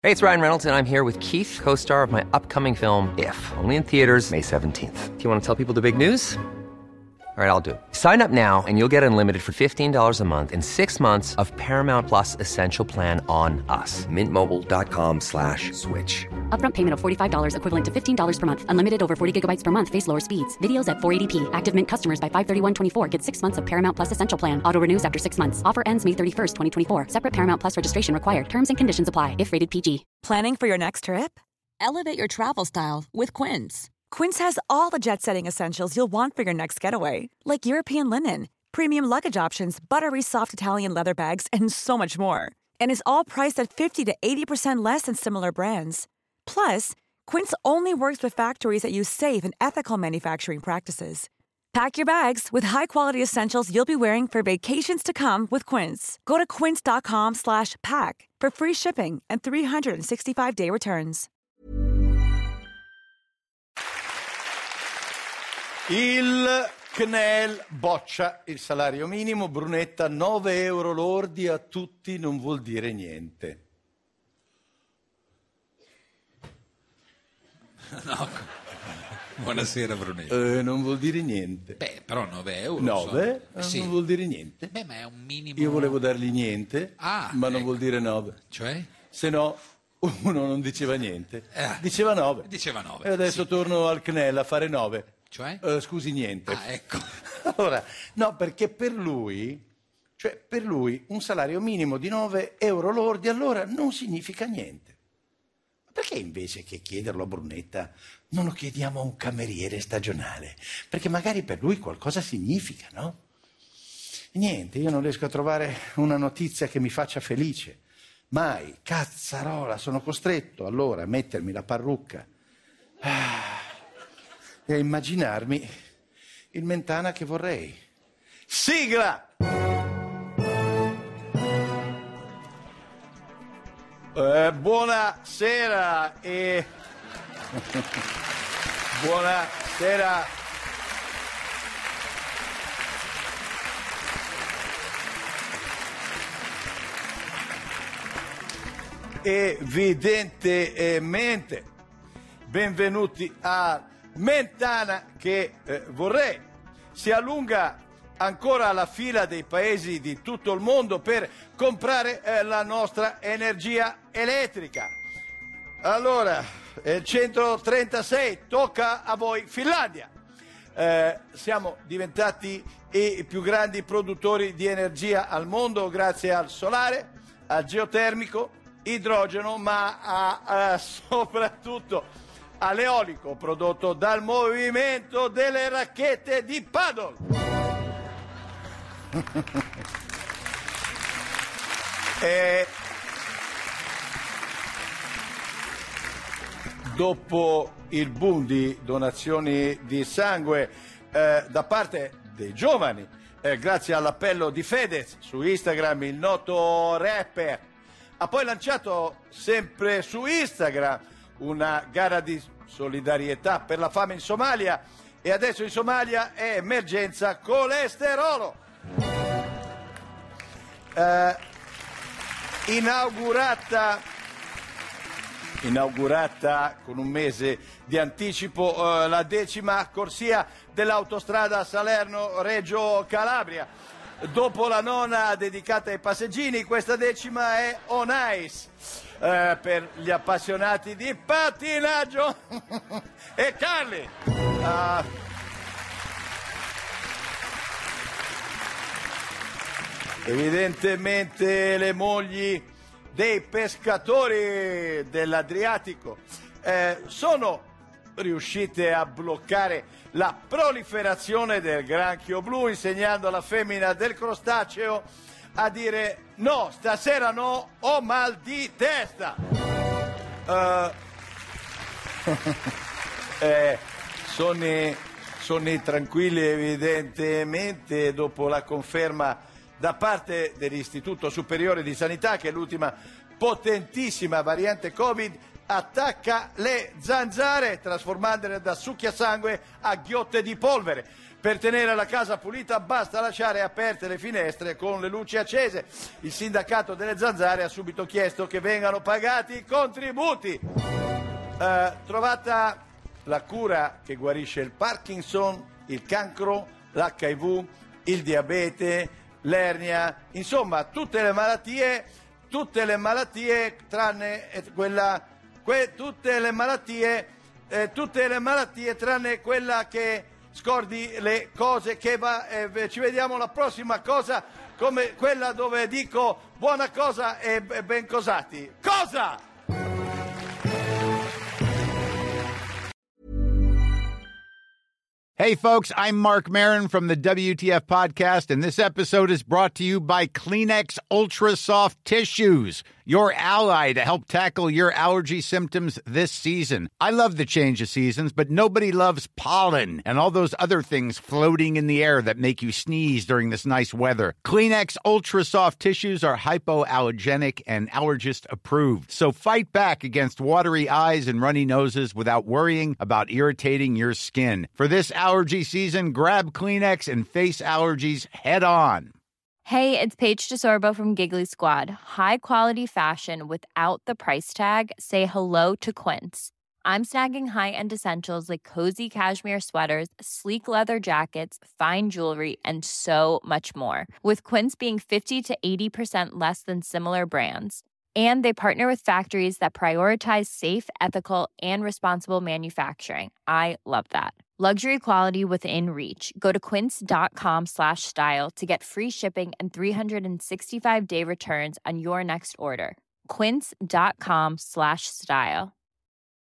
Hey, it's Ryan Reynolds, and I'm here with Keith, co-star of my upcoming film, If, only in theaters May 17th. Do you want to tell people the big news? All right, I'll do it. Sign up now and you'll get unlimited for $15 a month and 6 months of Paramount Plus Essential Plan on us. MintMobile.com/switch. Upfront payment of $45 equivalent to $15 per month. Unlimited over 40 gigabytes per month. Face lower speeds. Videos at 480p. Active Mint customers by 531.24 get 6 months of Paramount Plus Essential Plan. Auto renews after 6 months. Offer ends May 31st, 2024. Separate Paramount Plus registration required. Terms and conditions apply if rated PG. Planning for your next trip? Elevate your travel style with Quince. Quince has all the jet-setting essentials you'll want for your next getaway, like European linen, premium luggage options, buttery soft Italian leather bags, and so much more. And is all priced at 50 to 80% less than similar brands. Plus, Quince only works with factories that use safe and ethical manufacturing practices. Pack your bags with high-quality essentials you'll be wearing for vacations to come with Quince. Go to quince.com/pack for free shipping and 365-day returns. Il CNEL boccia il salario minimo, Brunetta, 9 euro lordi a tutti non vuol dire niente. No, buonasera Brunetta. Non vuol dire niente. Beh, però 9 euro. 9? Sì. Non vuol dire niente. Beh, ma è un minimo. Io volevo dargli niente, ma non ecco. vuol dire 9. Cioè? Se no, uno non diceva niente. Diceva 9. Diceva 9. E adesso sì. torno al CNEL a fare 9. Cioè? Scusi, niente. Ah, ecco. Allora, no, perché per lui un salario minimo di 9 euro lordi allora non significa niente. Ma perché invece che chiederlo a Brunetta non lo chiediamo a un cameriere stagionale? Perché magari per lui qualcosa significa, no? Niente, io non riesco a trovare una notizia che mi faccia felice. Mai, cazzarola, sono costretto allora a mettermi la parrucca e a immaginarmi il Mentana che vorrei. Sigla! Buonasera e... Buonasera. Evidentemente, benvenuti a Mentana che vorrei si allunga ancora la fila dei paesi di tutto il mondo per comprare la nostra energia elettrica. Allora, il 136 tocca a voi Finlandia. Siamo diventati i più grandi produttori di energia al mondo grazie al solare, al geotermico, idrogeno, ma soprattutto all'eolico prodotto dal movimento delle racchette di paddle. Dopo il boom di donazioni di sangue da parte dei giovani, grazie all'appello di Fedez su Instagram, il noto rapper ha poi lanciato sempre su Instagram una gara di solidarietà per la fame in Somalia e adesso in Somalia è emergenza colesterolo. Inaugurata con un mese di anticipo la 10ª corsia dell'autostrada Salerno-Reggio Calabria. Dopo la 9ª dedicata ai passeggini, questa 10ª è on ice per gli appassionati di pattinaggio. E Carli! Evidentemente le mogli dei pescatori dell'Adriatico sono riuscite a bloccare la proliferazione del granchio blu, insegnando alla femmina del crostaceo a dire no, stasera no, ho mal di testa. Sonni tranquilli evidentemente dopo la conferma da parte dell'Istituto Superiore di Sanità che l'ultima potentissima variante Covid attacca le zanzare trasformandole da succhiasangue a ghiotte di polvere. Per tenere la casa pulita basta lasciare aperte le finestre con le luci accese. Il sindacato delle zanzare ha subito chiesto che vengano pagati i contributi. Trovata la cura che guarisce il Parkinson, il cancro, l'HIV, il diabete, l'ernia, insomma tutte le malattie tranne tranne quella che scordi le cose che va. Ci vediamo la prossima cosa, come quella dove dico buona cosa e ben cosati. Cosa? Hey, folks, I'm Mark Maron from the WTF Podcast, and this episode is brought to you by Kleenex Ultra Soft Tissues, your ally to help tackle your allergy symptoms this season. I love the change of seasons, but nobody loves pollen and all those other things floating in the air that make you sneeze during this nice weather. Kleenex Ultra Soft Tissues are hypoallergenic and allergist approved, so fight back against watery eyes and runny noses without worrying about irritating your skin. For this allergy season, grab Kleenex and face allergies head on. Hey, it's Paige DeSorbo from Giggly Squad. High quality fashion without the price tag. Say hello to Quince. I'm snagging high-end essentials like cozy cashmere sweaters, sleek leather jackets, fine jewelry, and so much more. With Quince being 50 to 80% less than similar brands. And they partner with factories that prioritize safe, ethical, and responsible manufacturing. I love that. Luxury quality within reach. Go to quince.com/style to get free shipping and 365-day returns on your next order. Quince.com/style.